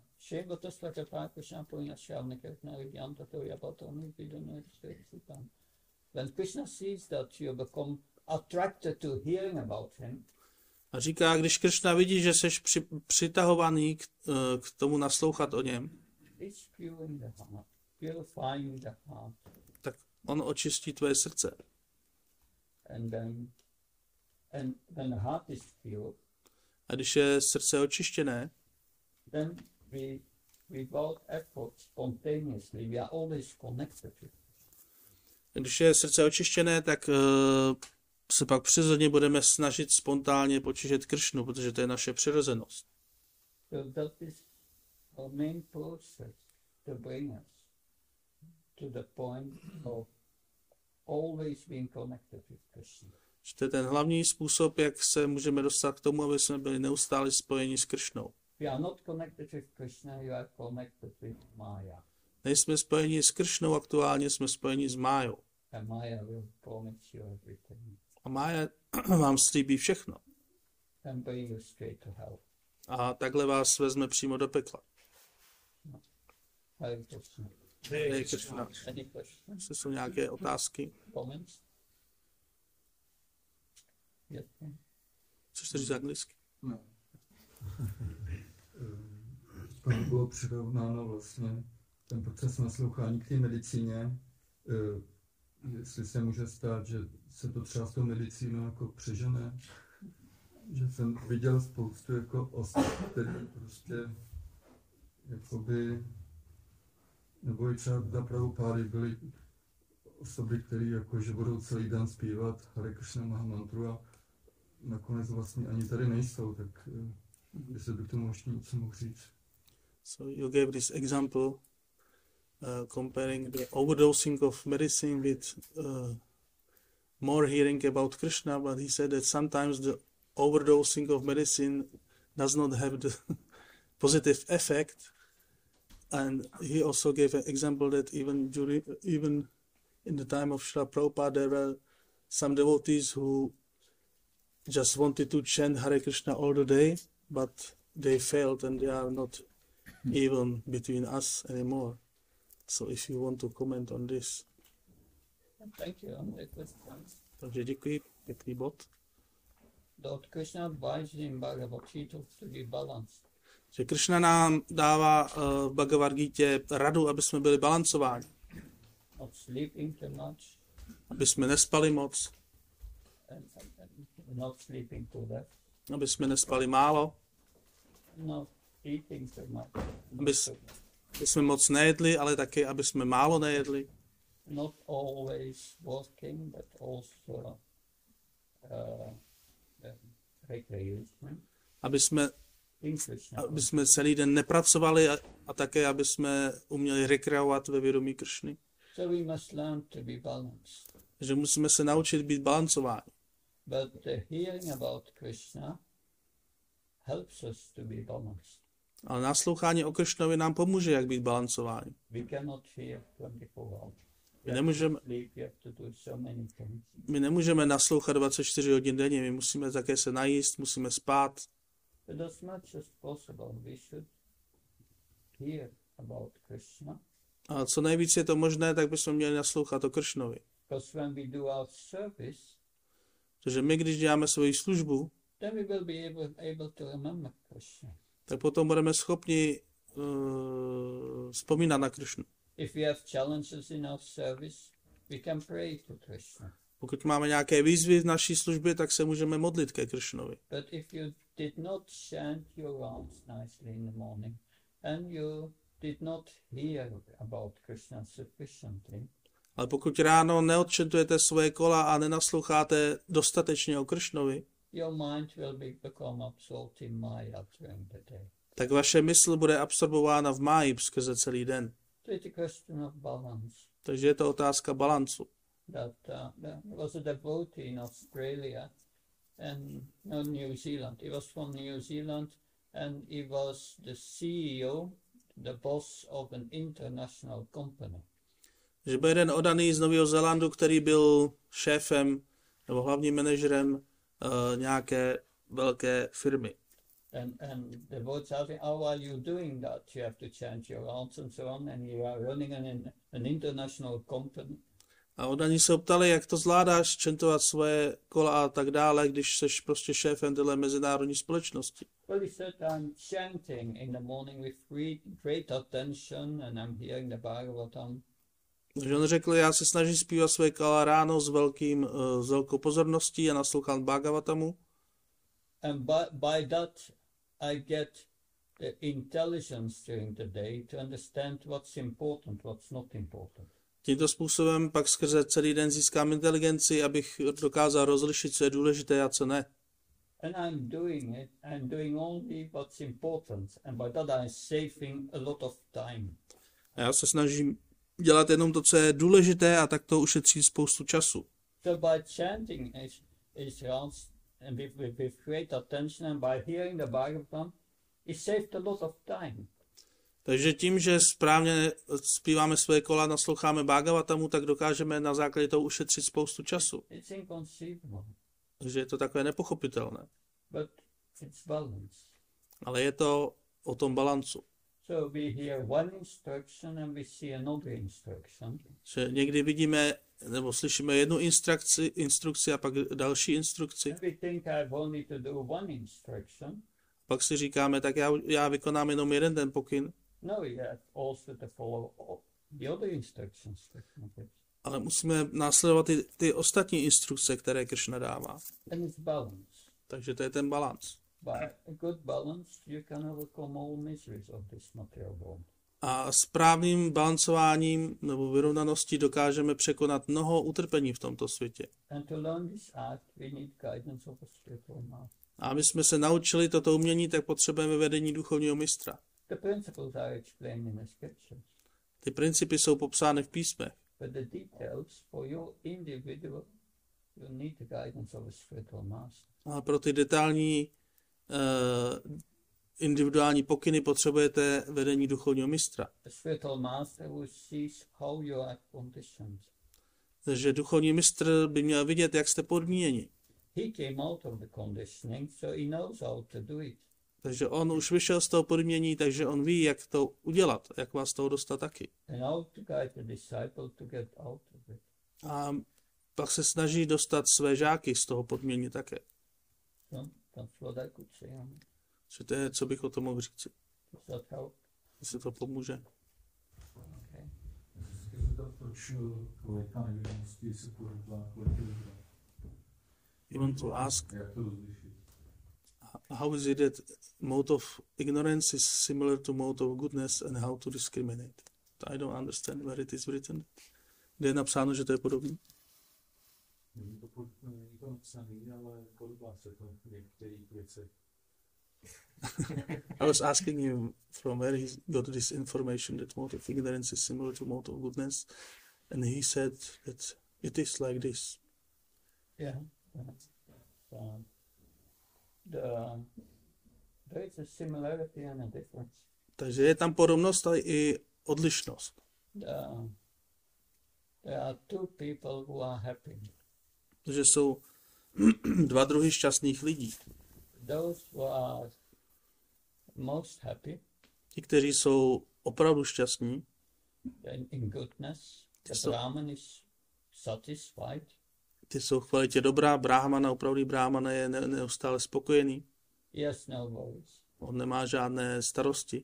When Krishna sees that you become attracted to hearing about him, A říká, když Kršna vidí, že jsi přitahovaný k tomu naslouchat o něm, it's purifying the heart. tak on očistí tvoje srdce. And when the heart is pure, A když je srdce očištěné, then we without effort, spontaneously, we are always connected with it. Když je srdce očištěné, tak se pak přirozeně budeme snažit spontánně počišet Kršnu, protože to je naše přirozenost. So that is our main process to bring us to the point of always being connected with Krishna. To je ten hlavní způsob, jak se můžeme dostat k tomu, aby jsme byli neustále spojeni s Krišnou. If you are not connected with Krishna, you are connected with Maya. Nejsme spojeni s Krišnou, aktuálně jsme spojeni s Májou. And Maya will promise you everything A Mája vám slíbí všechno. and bring you straight to hell. A takhle vás vezme přímo do pekla. Hare Krishna. Hare Krishna. Any questions, Jestli jsou nějaké otázky? comments? Yes. Což to říct anglicky? No. Tam bylo přirovnáno vlastně ten proces naslouchání k té medicíně. Jestli se může stát, že se to třeba s tou medicínou jako přežene. Že jsem viděl spoustu jako osob, které prostě jakoby, nebo i třeba za Prabhupády byly osoby, které jako, že budou celý den zpívat Hare Krishna Mahamantru a nakonec vlastně ani tady nejsou, tak jestli by k tomu ještě něco mohl říct. So you gave this example comparing the overdosing of medicine with more hearing about Krishna, but he said that sometimes the overdosing of medicine does not have the positive effect. And he also gave an example that even in the time of Srila Prabhupada, there were some devotees who just wanted to chant Hare Krishna all the day, but they failed and they are not even between us anymore. So if you want to comment on this. Thank you on the question. Takže děkuji, pěkný bod. Lord Krishna advised in Bhagavad Gita to be balanced. Že Krishna nám dává v Bhagavad Gita radu, aby jsme byli balancováni. Not sleeping too much Aby jsme nespali moc, and not sleeping too less. aby jsme nespali málo, Not eating too much. aby jsme moc nejedli, ale taky, aby jsme málo nejedli. Not always working, but also recreation. Aby jsme celý den nepracovali a také, aby jsme uměli rekreovat ve vědomí Kršny. So we must learn to be balanced. Takže musíme se naučit být balancováni. But the hearing about Krishna helps us to be balanced. Ale naslouchání o Kršnovi nám pomůže, jak být balancováni. We cannot hear 24 hours. My nemůžeme naslouchat 24 hodin denně, my musíme také se najíst, musíme spát. But as much as possible we should hear about Krishna. A co nejvíc je to možné, tak bychom měli naslouchat o Kršnovi. Because when we do our service, protože my, když děláme svoji službu, then we will be able to remember Krishna. Tak potom budeme schopni vzpomínat na Kršnu. If we have challenges in our service, we can pray to Krishna. Pokud máme nějaké výzvy v naší službě, tak se můžeme modlit ke Kršnovi. But if you did not chant your rounds nicely in the morning, and you did not hear about Krishna sufficiently, ale pokud ráno neodčetujete svoje kola a nenasloucháte dostatečně o Kršnovi, your mind will become absorbed in Maya during the day. Tak vaše mysl bude absorbována v máji skrze celý den. So it's a question of balance. Takže je to otázka balancu. There was a devotee in Australia and New Zealand. He was from New Zealand and he was the CEO, the boss of an international company. Že byl jeden oddaný z Nového Zélandu, který byl šéfem nebo hlavním manažerem nějaké velké firmy. And the devotee asked him, how are you doing that? You have to change your rounds and so on, and you are running an international company. A oddaní se ptali, jak to zvládáš, čentovat svoje kola a tak dále, když jsi prostě šéfem téhle mezinárodní společnosti. Well, he said, I'm chanting in the morning with great attention and I'm hearing the Bhagavatam. Takže on řekl, já se snažím zpívat svoje kola ráno s velkou pozorností a naslouchám Bhagavatamu. And by that I get the intelligence during the day to understand what's important, what's not important. Tímto způsobem pak skrze celý den získám inteligenci, abych dokázal rozlišit, co je důležité a co ne. And I'm doing only what's important, and by that I'm saving a lot of time. A já se snažím dělat jenom to, co je důležité, a tak to ušetří spoustu času. So by chanting is and with great attention and by hearing the Bhagavatam, it saved a lot of time. Takže tím, že správně zpíváme své kola, nasloucháme Bhagavatamu, tak dokážeme na základě toho ušetřit spoustu času. It's inconceivable, Takže je to takové nepochopitelné. but it's balance. Ale je to o tom balancu. So we hear one instruction and we see another instruction. Že někdy vidíme nebo slyšíme jednu instrukci a pak další instrukci. And we think I have only to do one instruction. Pak si říkáme, tak já vykonám jenom jeden ten pokyn. No, you have also to follow all the other instructions. Ale musíme následovat ty ostatní instrukce, které Kršna dává. And it's balance. Takže to je ten balans. By a good balance, you can overcome all miseries of this material world. A správným balancováním nebo vyrovnaností dokážeme překonat mnoho utrpení v tomto světě. And to learn this art, we need guidance of a spiritual master. A aby jsme se naučili toto umění, tak potřebujeme vedení duchovního mistra. The principles are explained in the scriptures, Ty principy jsou popsány v písmech, but the details for your individual, you need the guidance of a spiritual master. a pro ty detailní individuální pokyny potřebujete vedení duchovního mistra. A spiritual master who sees how you are conditioned. Takže duchovní mistr by měl vidět, jak jste podmíněni. He came out of the conditioning, so he knows how to do it. Takže on už vyšel z toho podmínění, takže on ví, jak to udělat, jak vás z toho dostat taky. And how to guide the disciple to get out of it. A pak se snaží dostat své žáky z toho podmínění také. So that's what I could say on it. Že to je, co bych o tom mohl říct. Does that help? Jestli to pomůže. Okay. Proč kvalita nevědomosti se porovná kvalitě? You want to ask, Jak to rozlišit? how is it that mode of ignorance is similar to mode of goodness and how to discriminate? I don't understand where it is written. Kde je napsáno, že to je podobné? Není to napsaný, ale podobá se to v některých věcech. I was asking him from where he got this information that mode of ignorance is similar to mode of goodness, and he said that it is like this. Yeah. There is a similarity and a difference. Takže je tam podobnost, ale i odlišnost. There are two people who are happy. Takže jsou dva druhy šťastných lidí. Those who are most happy Ti, kteří jsou opravdu šťastní, in goodness, the So- Brahman is satisfied. ty jsou v kvalitě dobrá, brahmana, opravdý brahmana je neustále spokojený. He has no worries. On nemá žádné starosti.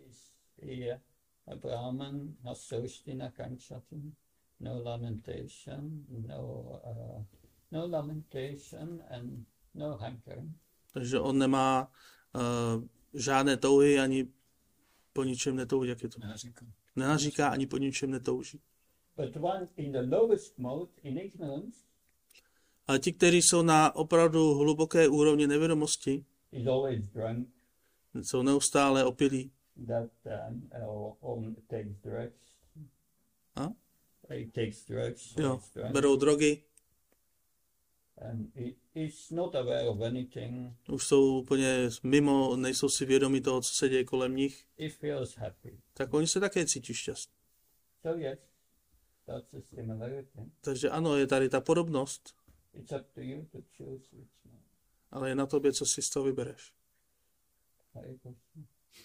A Brahman has soština kanchatin, no lamentation, no lamentation and no hankering. Takže on nemá žádné touhy ani po ničem netouží. Jak je to? Nenaříká ani po ničem netouží. But one in the lowest mode, in ignorance, Ale ti, kteří jsou na opravdu hluboké úrovni nevědomosti, is always drunk, jsou neustále opilí. that takes drugs. A? He takes drugs, so Jo, he's drunk. berou drogy, And he's not aware of anything. už jsou úplně mimo, nejsou si vědomi toho, co se děje kolem nich, He feels happy. tak oni se také cítí šťastní. So yes, that's a similarity. Takže ano, je tady ta podobnost, It's up to you to choose which one. ale je na tobě, co si z toho vybereš. Hare Krishna.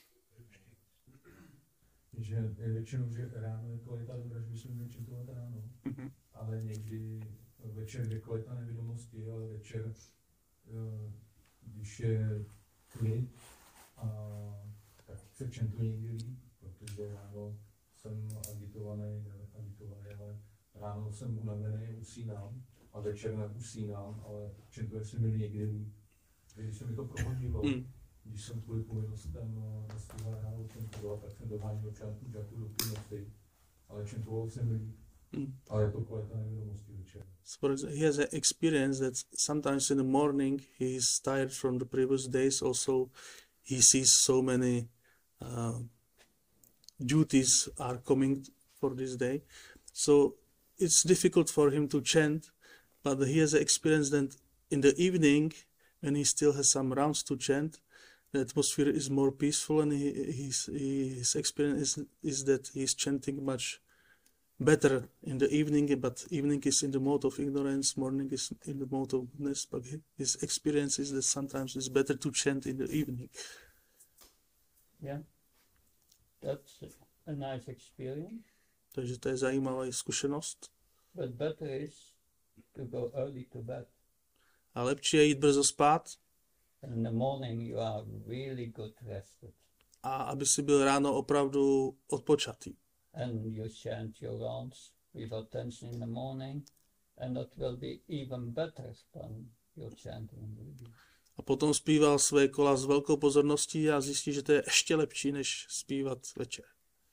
Že je většinou, že ráno je kvalita dobrá, že bychom měli čintovat ráno, ale někdy večer je kvalita nevědomosti, ale večer, když je klid, tak se čentu někdy líp, protože ráno jsem agitovaný, ale ráno jsem unavený, usínám a večer neusínám, ale čentuje se mi někdy líp. Když se mi to prohodilo, když jsem kvůli povinnostem nestihl ráno čentovat, tak jsem doháněl čántku žáku do půlnoci, ale čentoval jsem líp. Ale je to kvalita nevědomosti večer. So he has an experience that sometimes in the morning he is tired from the previous days. Also, he sees so many duties are coming for this day. So it's difficult for him to chant, but he has an experience that in the evening, when he still has some rounds to chant, the atmosphere is more peaceful, and his experience is that he's chanting much better in the evening, but evening is in the mode of ignorance, morning is in the mode of goodness, but his experience is that sometimes it's better to chant in the evening. Yeah, that's a nice experience. Takže to je zajímavá zkušenost. But better is to go early to bed. A lepší je jít brzo spát. And in the morning you are really good rested. A aby si byl ráno opravdu odpočatý. And you chant your rounds with attention in the morning, and that will be even better than your chanting in the evening. A potom zpíval své kola s velkou pozorností a zjistí, že to je ještě lepší, než zpívat večer.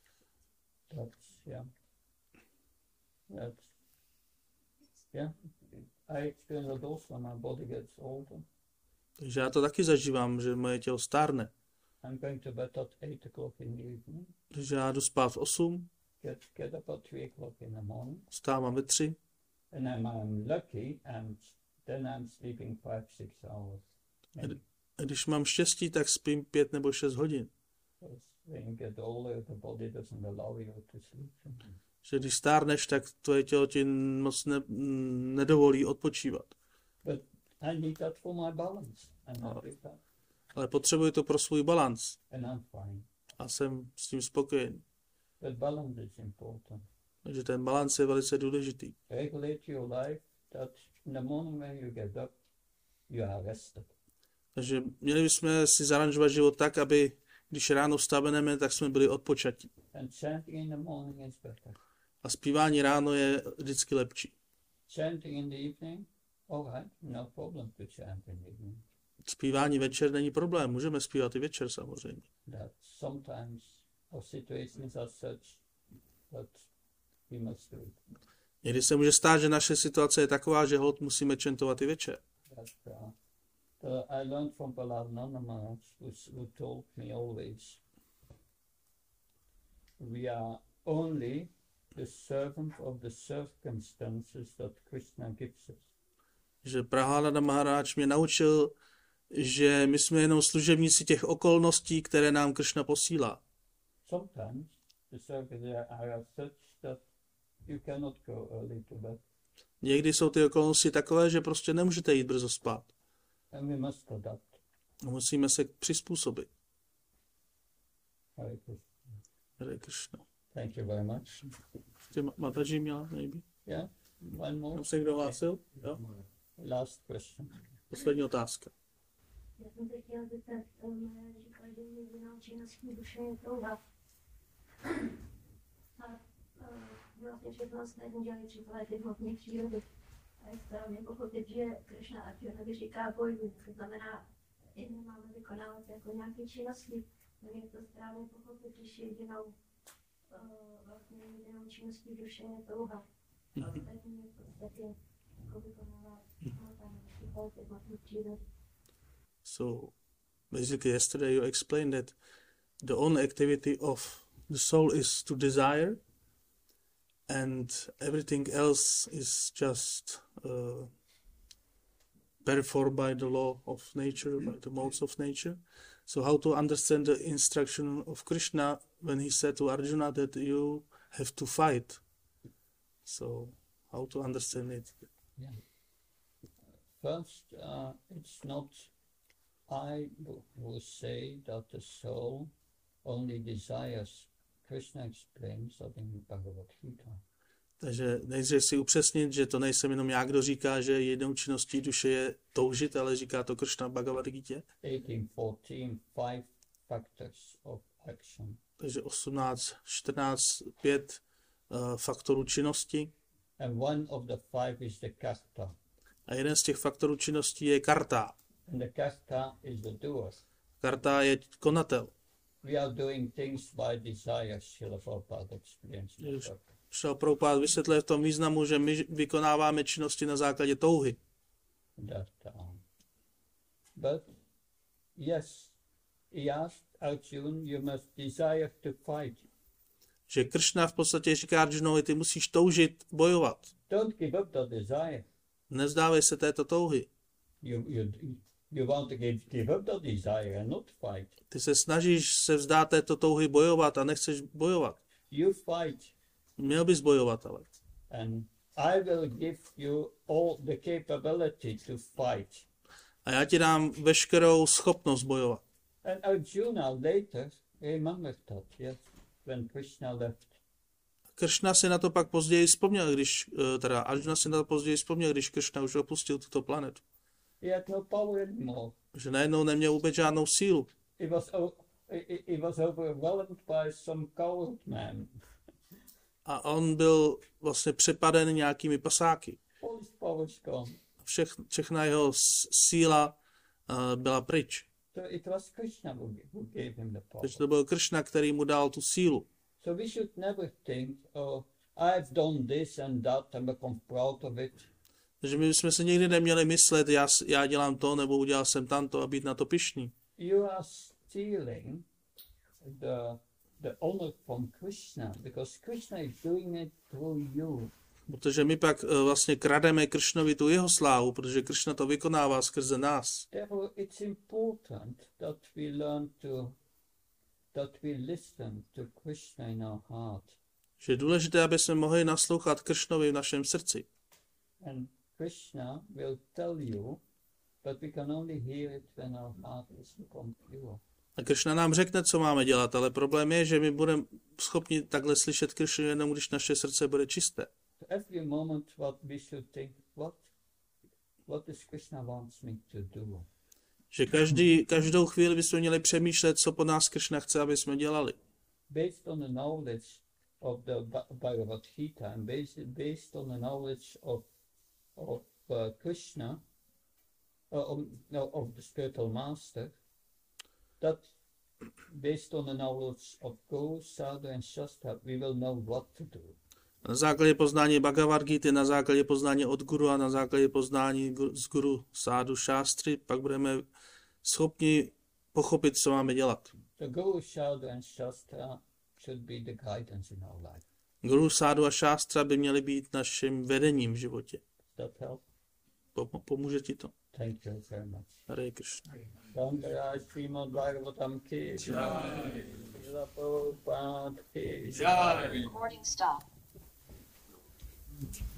I experience it also when my body gets older. Takže já to taky zažívám, že moje tělo stárne. I'm going to bed at 8 o'clock in the evening. Takže já jdu spát v 8. Get up at 3 o'clock in the morning. Vstávám ve 3. And I'm lucky, and then I'm sleeping 5-6 hours. A když mám štěstí, tak spím 5 nebo 6 hodin. When you get older, the body doesn't allow you to sleep. Že když stárneš, tak tvoje tělo ti moc nedovolí odpočívat. But I need that for my balance. Ale potřebuji to pro svůj balans. And I'm fine. A jsem s tím spokojený. But balance is important. Takže ten balans je velice důležitý. Regulate your life that in the morning when you get up, you are rested. Takže měli bychom si zaranžovat život tak, aby když ráno vstaneme, tak jsme byli odpočatí. And chanting in the morning is better. A zpívání ráno je vždycky lepší. Chanting in the evening, all right, no problem to chant in the evening. Zpívání večer není problém, můžeme zpívat i večer samozřejmě. That sometimes our situations are such that we must do it. Někdy se může stát, že naše situace je taková, že hod musíme čantovat i večer. I learned from Prahlad Maharaj, who told me always, we are only the servant of the circumstances that Krishna gives us. Že Prahlad Maharaj mě naučil, že my jsme jenom služebníci těch okolností, které nám Krishna posílá. Sometimes the circumstances are such that you cannot go early to bed. Někdy jsou ty okolnosti takové, že prostě nemůžete jít brzo spát. And we must adapt. Musíme se přizpůsobit. Hare Krishna. Hare Krishna. Thank you very much. Mataji měla, maybe? Yeah, one more. Tam se kdo hlásil? Jo? Last question. Poslední otázka. Já jsem se chtěla zeptat, říkal, že jedinou činností duše je touha. A vlastně všechno ostatní dělají příklad ty hmotné přírody. A je správně pochopit, že Krishna Arjunovi říká bojů, to znamená, i nemáme vykonávat jako nějaké činnosti. Je to správně pochopit, když jedinou činností duše je touha. A ostatní je v podstatě jako vykonávat příklad ty hmotné přírody. So basically yesterday you explained that the only activity of the soul is to desire, and everything else is just performed by the law of nature, by the modes of nature. So how to understand the instruction of Krishna when he said to Arjuna that you have to fight? So how to understand it? Yeah. First, it's not I will say that the soul only desires. Krishna explains that in Bhagavad Gita. Takže nejdřív si upřesnit, že to nejsem jenom já, kdo říká, že jednou činností duše je toužit, ale říká to Krishna v Bhagavad Gita. 18:14, 5 factors of action. Takže 18, 14, 5 faktorů činnosti. And one of the 5 is the karta. A jeden z těch faktorů činnosti je karta. And the karta is the doer. Karta je konatel. We are doing things by desire, Srila Prabhupada explains. Srila Prabhupada vysvětluje v tom významu, že my vykonáváme činnosti na základě touhy. But yes, he asked Arjuna, you must desire to fight. Že Kršna v podstatě říká Arjunovi, ty musíš toužit bojovat. Don't give up that desire. Nezdávej se této touhy. You want to give up that desire and not fight. Ty se snažíš se vzdát této touhy bojovat a nechceš bojovat. You fight, Měl bys bojovat, ale. and I will give you all the capability to fight. A já ti dám veškerou schopnost bojovat. And Arjuna later remembered that, yes, when Krishna left. Kršna si na to pak později vzpomněl, Arjuna si na to později vzpomněl, když Kršna už opustil tuto planetu. He had no power anymore. Že najednou neměl vůbec žádnou sílu. He was overwhelmed by some coward man. A on byl vlastně přepaden nějakými pasáky. All his power's gone. Všechna jeho síla byla pryč. So it was Krishna who gave him the power. Takže to byl Kršna, který mu dal tu sílu. So we should never think, oh, I've done this and that and become proud of it. Takže my jsme se nikdy neměli myslet, já dělám to, nebo udělal jsem tamto a být na to pyšný. You are stealing the honor from Krishna, because Krishna is doing it through you. Protože my pak vlastně krademe Kršnovi tu jeho slávu, protože Kršna to vykonává skrze nás. Therefore, it's important that we listen to Krishna in our heart. Že je důležité, aby jsme mohli naslouchat Kršnovi v našem srdci. And Krishna will tell you, but we can only hear it when our heart is become pure. A Kršna nám řekne, co máme dělat, ale problém je, že my budeme schopni takhle slyšet Kršnu jenom, když naše srdce bude čisté. So every moment what we should think, what does Krishna wants me to do? Že každou chvíli bychom měli přemýšlet, co po nás Kršna chce, aby jsme dělali. Based on the knowledge of the Bhagavad Gita and based on the knowledge of Krishna, of the spiritual master, that based on the knowledge of Guru, Sadhu and Shastra, we will know what to do. Na základě poznání Bhagavad Gita, na základě poznání od Guru a na základě poznání z Guru, Sádu, Šástry, pak budeme schopni pochopit, co máme dělat. The Guru, Sadhu and Shastra should be the guidance in our life. Guru, Sádu a Šástra by měly být naším vedením v životě. Does that help? Pomůže ti to. Thank you very much. Hare Krishna. Shankara Srimad Bhagavatam ki jai. Srila Prabhupada ki jai. Recording stop.